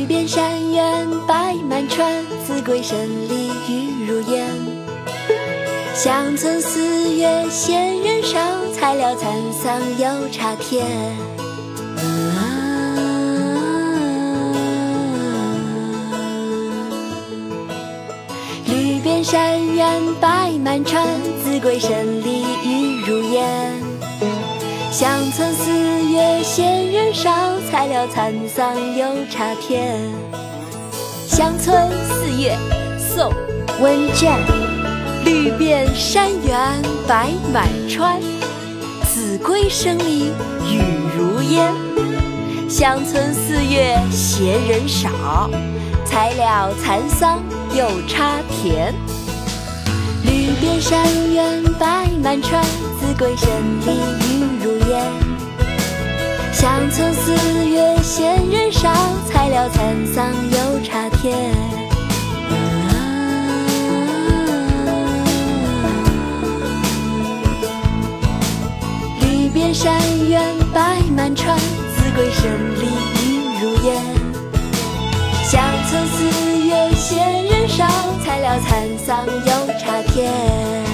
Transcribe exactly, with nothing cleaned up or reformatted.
遍山原白满川，子规声里玉如烟。乡村四月闲人少，才料蚕桑又插田。绿遍山原白满川，子规声里玉如烟。乡村四月闲人少，才料蚕桑又插田。乡村四月，宋·温卷。绿遍山原白满川，子规声里玉如烟。乡村四月闲人少，才料蚕桑又插田。绿遍山原白满川，子规声里玉如烟。乡村四月闲人少，才料蚕桑又插田。绿遍山原白满川，子规声里玉如烟。乡村四月闲人少，才料蚕桑又插田。